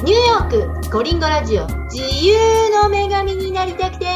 ニューヨークコリンゴラジオ自由の女神になりたくて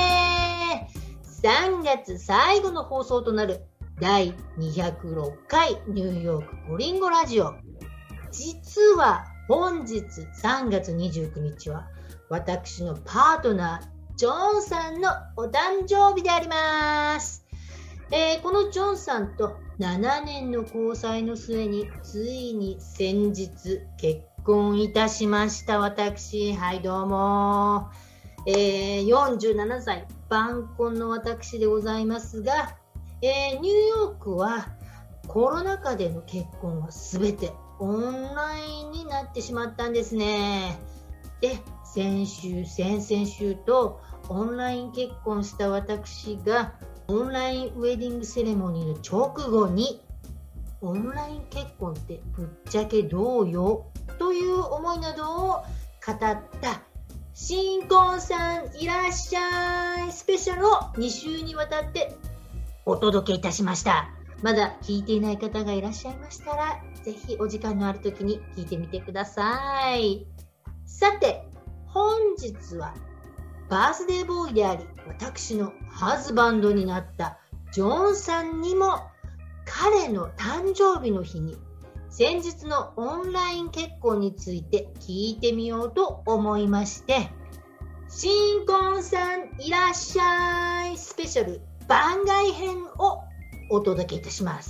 3月最後の放送となる第206回ニューヨークコリンゴラジオ。実は本日3月29日は私のパートナージョンさんのお誕生日であります。このジョンさんと7年の交際の末についに先日結婚いたしました。私、はいどうも、47歳晩婚の私でございますが、ニューヨークはコロナ禍での結婚は全てオンラインになってしまったんですね。で、先々週とオンライン結婚した私がオンラインウェディングセレモニーの直後にオンライン結婚ってぶっちゃけどうよという思いなどを語った新婚さんいらっしゃいスペシャルを2週にわたってお届けいたしました。まだ聞いていない方がいらっしゃいましたらぜひお時間のある時に聞いてみてください。さて本日はバースデーボーイであり私のハズバンドになったジョンさんにも彼の誕生日の日に先日のオンライン結婚について聞いてみようと思いまして新婚さんいらっしゃいスペシャル番外編をお届けいたします。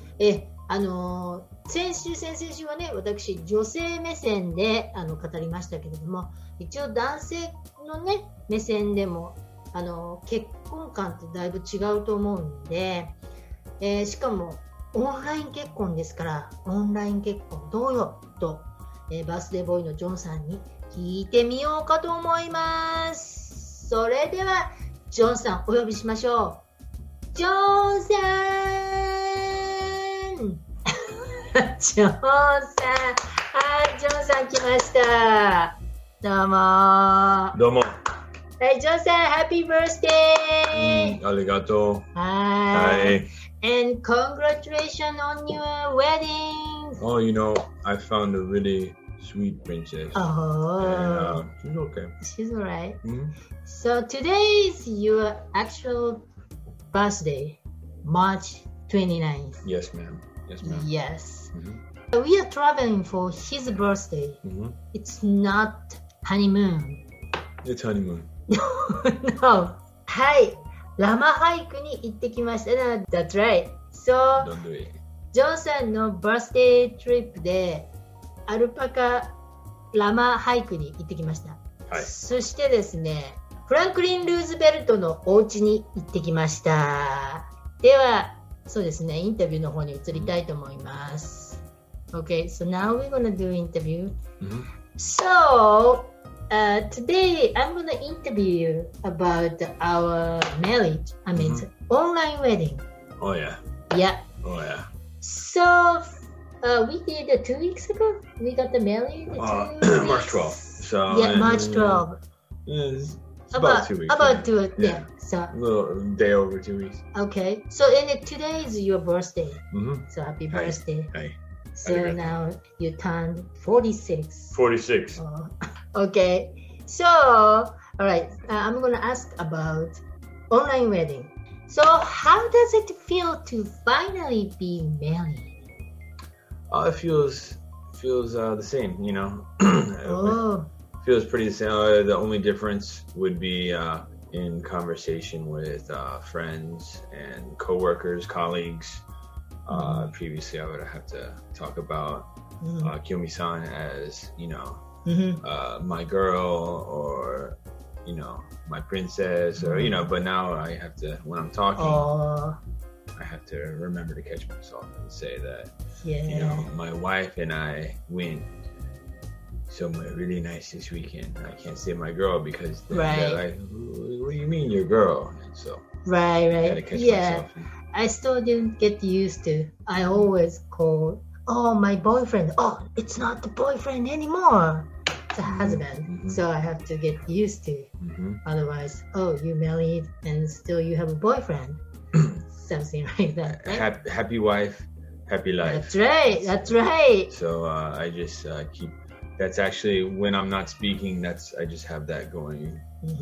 先週はね私女性目線で語りましたけれども一応男性のね目線でも結婚観ってだいぶ違うと思うんで、しかもオンライン結婚ですからオンライン結婚どうよと、バースデーボーイのジョンさんに聞いてみようかと思います。それではジョンさんお呼びしましょう。ジョンさんジョンさんジョンさん来ました。どうもどうも。 はい、ジョンさん、Happy Birthday! ありがとう。 はい。 はい。 And congratulations on your wedding! Oh, you know, I found a really sweet princess. Oh, And, she's okay. she's alright. Mhm. So today is your actual birthday, March 29th. Yes, ma'am. Yes, ma'am. Yes. Mhm. We are traveling for his birthday. Mhm. It's not honeymoon. It's honeymoon. No. はい。ラマハイクに行ってきました。That's right. So, Don't do it. ジョンさんのバースデートリップでアルパカラマハイクに行ってきました。 はい。 そしてですね、フランクリン・ルーズベルトのお家に行ってきました。では、そうですね、インタビューの方に移りたいと思います。Okay, so now we're gonna do interview. Mhm. So, today I'm gonna interview about our marriage. I mean, online wedding. Oh, yeah. Yeah. Oh, yeah. So, we did 2 weeks ago. We got married. March 12th. So, Yeah, March 12th. It's about 2 weeks. About 2 Yeah. yeah. So, A little day over 2 weeks. okay. So, and today is your birthday. Mm-hmm. So, happy Hi. birthday. Hey. So Happy birthday. now you turned 46. 46. Oh, okay. So, all right. I'm gonna ask about online wedding. So, how does it feel to finally be married? It feels the same, you know. Oh, Feels pretty the same. The only difference would be in conversation with friends and coworkers, colleagues. Previously, I would have to talk about Kiyomi-san as, you know, my girl or, you know, my princess or, you know, but now I have to, when I'm talking, I have to remember to catch myself and say that, yeah. you know, my wife and I went somewhere really nice this weekend. I can't say my girl because they're like, what do you mean your girl? And so Right, I gotta right. catch Yeah. myself. I still didn't get used to. I always call, oh, my boyfriend. Oh, it's not the boyfriend anymore. It's a husband. So I have to get used to. Otherwise, oh, you married and still you have a boyfriend. Something like that. Right? Happy wife, happy life. That's right. That's right. So I just keep that's actually when I'm not speaking. I just have that going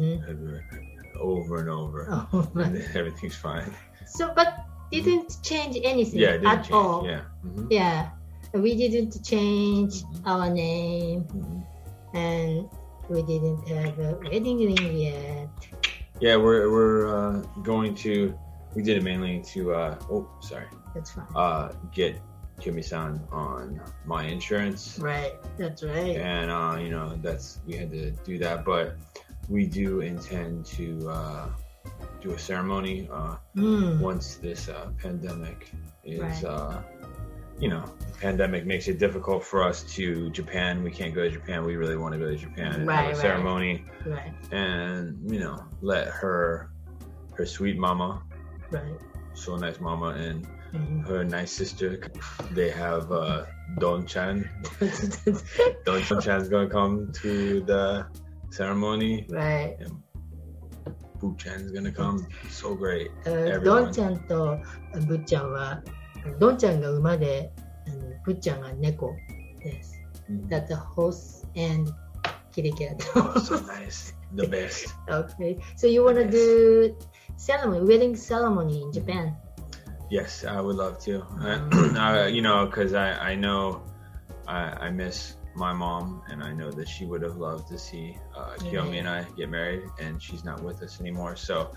over and over, and then everything's fine. So, but didn't change anything Yeah, it didn't at change. all. Yeah. Yeah, we didn't change our name, and we didn't have a wedding ring yet. Yeah, we're going to. We did it mainly to. That's fine. Get Kiyomi-san on my insurance. Right. That's right. And we had to do that, but we do intend to do a ceremony once this pandemic is. Right. The pandemic makes it difficult for us to Japan. We can't go to Japan. We really want to go to Japan and have a ceremony. Right. And let her sweet mama, right, so nice mama, and her nice sister. They have Don-chan. Don-chan's gonna come to the ceremony. Right. And Boo-chan's gonna come. So great. ドンちゃんとブッちゃんは、ドンちゃんが馬で、ブッちゃんが猫です。That's the horse and kitty cat. Oh, so nice. The best. Okay. So you want to do wedding ceremony in Japan? Yes, I would love to. Because I know I miss my mom, and I know that she would have loved to see Kiyomi and I get married, and she's not with us anymore. So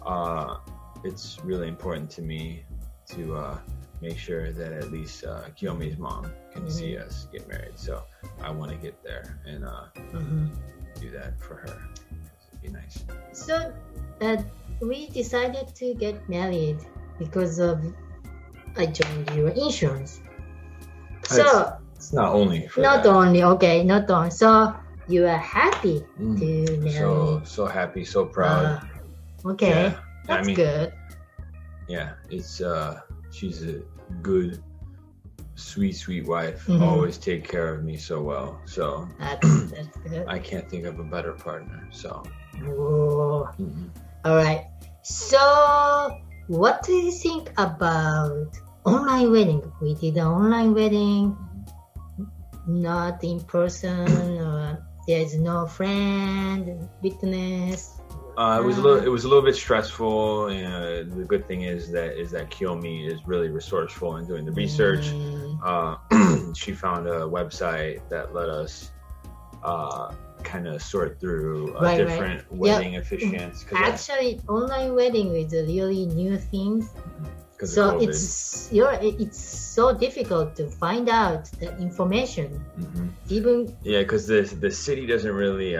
it's really important to me to make sure that at least Kiyomi's mom can see us get married. So I want to get there and do that for her. It'd be nice. So we decided to get married because of I joined your insurance. So it's not only for not that. only okay, not only. So you are happy to marry. So happy, so proud. Okay, yeah. That's good. Yeah, it's she's a good, sweet wife. Always take care of me so well. So that's good. I can't think of a better partner. So. All right. So what do you think about online wedding? We did an online wedding, not in person, or there's no friend, witness. It was a little bit stressful. The good thing is that Kiyomi is really resourceful in doing the research. She found a website that let us kind of sort through different wedding officiants. Actually, online wedding is a really new thing. So it's so difficult to find out the information. Because the city doesn't really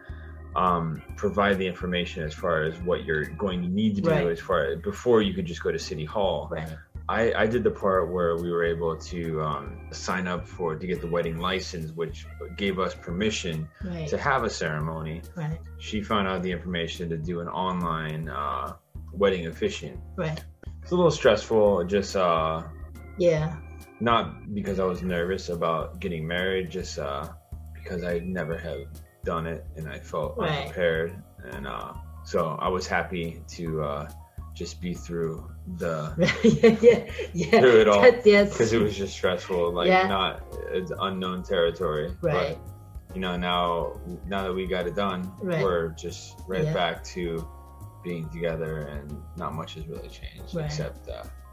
provide the information as far as what you're going to need to do as far as before you could just go to City Hall. I did the part where we were able to sign up to get the wedding license, which gave us permission to have a ceremony. She found out the information to do an online wedding officiant. It's a little stressful, just not because I was nervous about getting married, just because I never have done it and I felt unprepared, and so I was happy to just be through through it all, because it was just stressful, not it's unknown territory. But now that we got it done, we're just back to being together, and not much has really changed except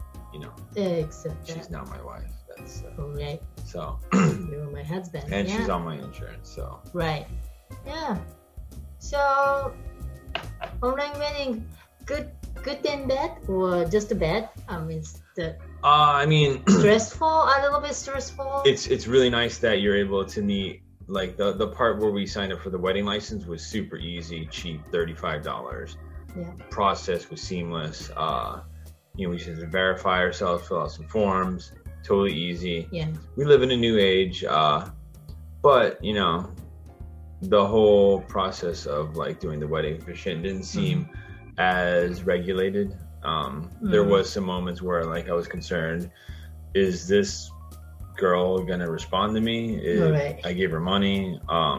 she's now my wife. That's so you're my husband, and she's on my insurance, so so online wedding, good and bad, or just bad? I mean, stressful, a little bit stressful. It's really nice that you're able to meet, like the part where we signed up for the wedding license was super easy, cheap, $35. Process was seamless. We just had to verify ourselves, fill out some forms, totally easy. We live in a new age, but the whole process of doing the wedding officiant didn't seem as regulated. There was some moments where I was concerned, is this girl gonna respond to me? I gave her money.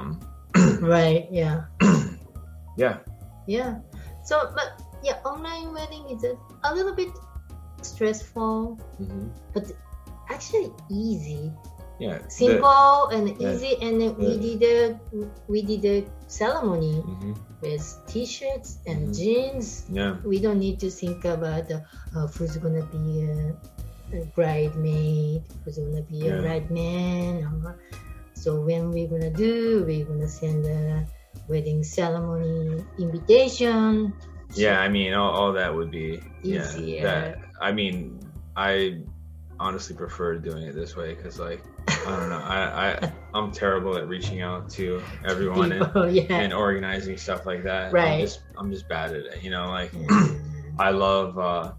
So but online wedding is a little bit stressful, but actually easy Yeah. simple and easy, and then we did a ceremony with t-shirts and jeans. Yeah. We don't need to think about who's gonna be a bridemaid, who's gonna be a bridesman. So when we're gonna send a wedding ceremony invitation. Yeah, I mean, all that would be easier. I honestly prefer doing it this way because, like, I don't know, I'm terrible at reaching out to everyone and organizing stuff like that. Right. I'm just bad at it. You know, like I love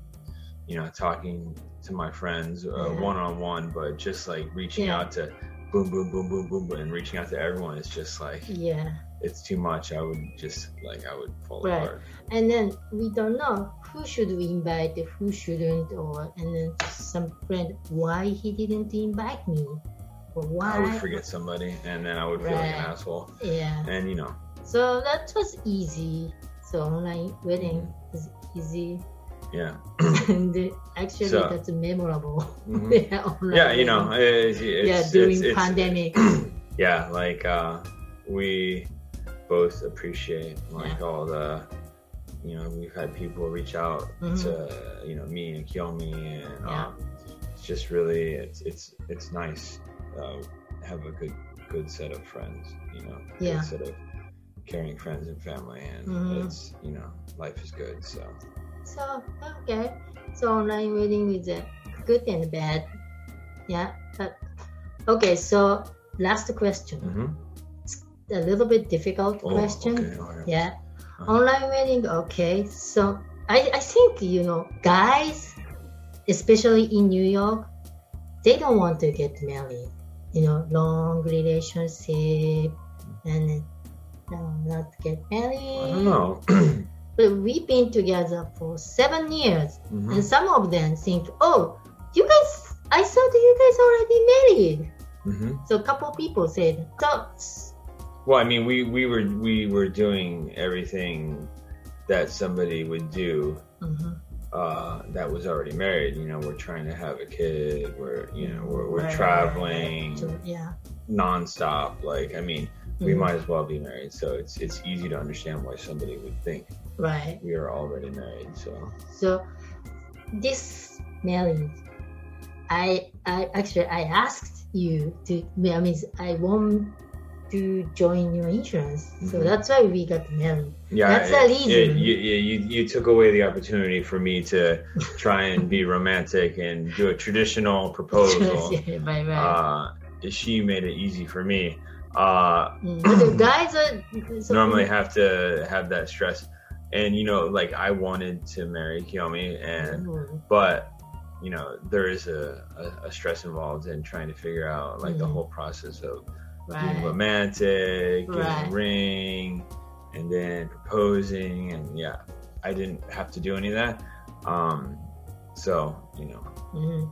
talking to my friends one-on-one, but just like reaching out to boom, boom, boom, boom, boom, boom, and reaching out to everyone is just like it's too much. I would fall apart. And then we don't know who should we invite, who shouldn't, and then some friend, why he didn't invite me, or why I would forget somebody, and then I would feel like an asshole. Yeah. And you know. So that was easy. So online wedding is easy. Yeah. And actually, that's memorable. Yeah, you know, during pandemic. Yeah, like we both appreciate like all the, you know, we've had people reach out to, you know, me and Kiyomi, and it's just really it's nice have a good set of friends, you know, good set of caring friends and family, and it's, you know, life is good. So okay, so online wedding is good and bad, but okay, so last question. A little bit difficult question. Okay. Online wedding. Okay, so I think, you know, guys, especially in New York, they don't want to get married. You know, long relationship and not get married. I don't know. But we've been together for 7 years, and some of them think, oh, you guys, I thought you guys already married. So a couple people said, well, I mean, we were doing everything that somebody would do that was already married. You know, we're trying to have a kid. We're traveling nonstop. Like, I mean, we might as well be married. So it's easy to understand why somebody would think we are already married. So this marriage, I asked you to. I mean, I want to join your insurance, so that's why we got married. That's the reason. You took away the opportunity for me to try and be romantic and do a traditional proposal. She made it easy for me. The guys normally have to have that stress, and you know, like I wanted to marry Kiyomi, but you know, there is a stress involved in trying to figure out like the whole process of being romantic, getting a ring, and then proposing, and I didn't have to do any of that. So, you know,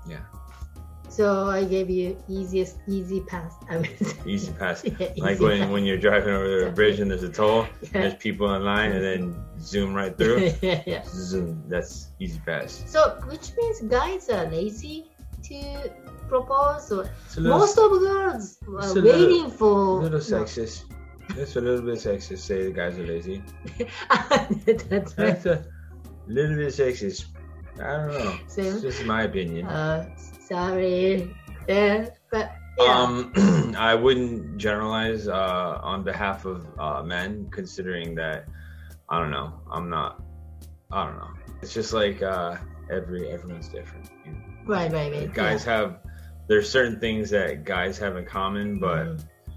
So I gave you easy pass. Easy pass. Like when you're driving over the bridge and there's a toll, there's people in line, and then zoom right through. Zoom. That's easy pass. So, which means guys are lazy to propose, or most of girls are waiting for. A little sexist. It's a little bit sexist. Say the guys are lazy. That's right. That's a little bit sexist. I don't know. It's just my opinion. Sorry. But I wouldn't generalize on behalf of men, considering that I don't know. I don't know. It's just like everyone's different. You know? Right. Guys have. There's certain things that guys have in common, but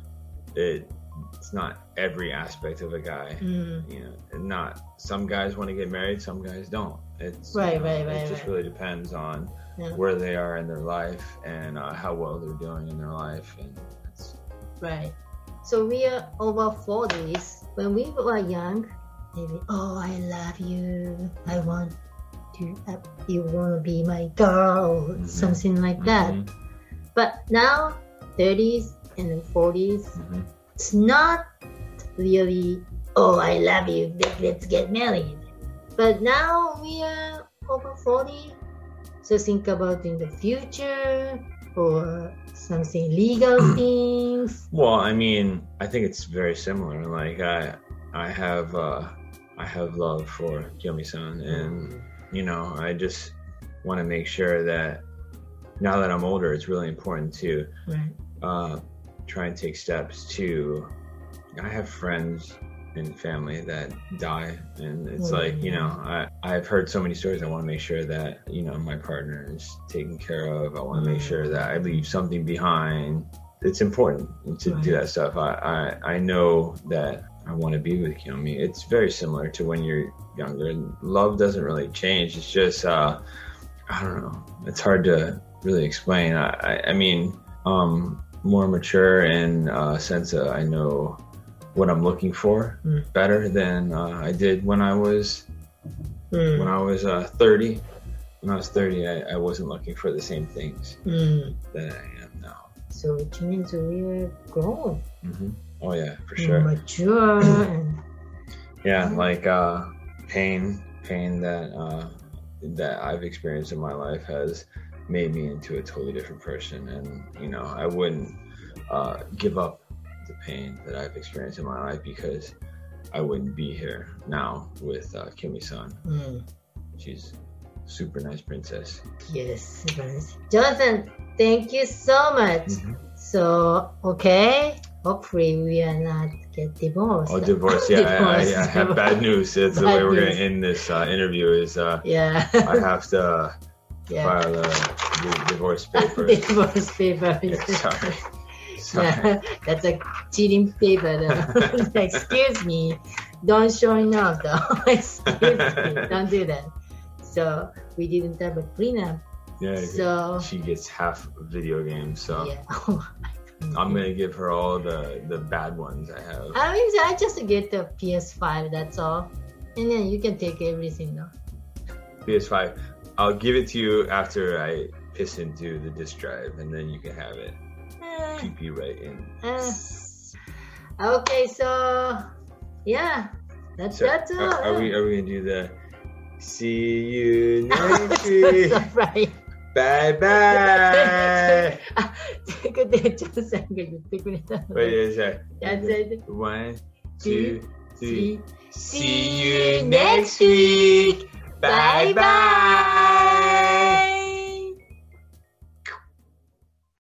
it's not every aspect of a guy. You know, and not some guys want to get married, some guys don't. It's It just really depends on where they are in their life and how well they're doing in their life, and that's right. So we are over 40s. When we were young, maybe, oh, I love you. I want to. You want to be my girl, something like that. But now, 30s and 40s, it's not really, oh, I love you, let's get married. But now we are over 40, so think about in the future, or something legal things? Well, I mean, I think it's very similar. Like I have love for Kiyomi-san, and you know, I just want to make sure that now that I'm older, it's really important to try and take steps to. I have friends and family that die, and it's like, you know, I've heard so many stories. I want to make sure that, you know, my partner is taken care of. I want to make sure that I leave something behind. It's important to do that stuff. I know that I want to be with Kiyomi. It's very similar to when you're younger, and love doesn't really change. It's just I don't know, it's hard to really explain. I mean, more mature in a sense that I know what I'm looking for better than I did when I was 30. When I was 30, I wasn't looking for the same things that I am now. So which means we are grown. Oh yeah, for sure. Mature and like pain that I've experienced in my life has made me into a totally different person, and you know, I wouldn't give up the pain that I've experienced in my life because I wouldn't be here now with Kiyomi-san. She's a super nice princess. Yes, Jonathan, thank you so much. So, okay, hopefully we are not get divorced. Oh, divorce, yeah. I have bad news. That's the way we're going to end this interview is I have to file the divorce paper. Divorce paper. Sorry. Yeah, that's a cheating paper. Excuse me, don't showing off though. Excuse me, don't do that. So we didn't have a prenup. Yeah, so she gets half video games. So yeah. I'm gonna give her all the bad ones I have. I mean, I just get the PS5. That's all, and then you can take everything though. PS5. I'll give it to you after I piss into the disk drive, and then you can have it. PP right in. Okay, so yeah, that's all. Are we gonna do the see you next week? Right. Bye bye. って、ちょっとさんが言ってくれたの。 Wait a second. 1, 2, 3. See you next week. Bye bye.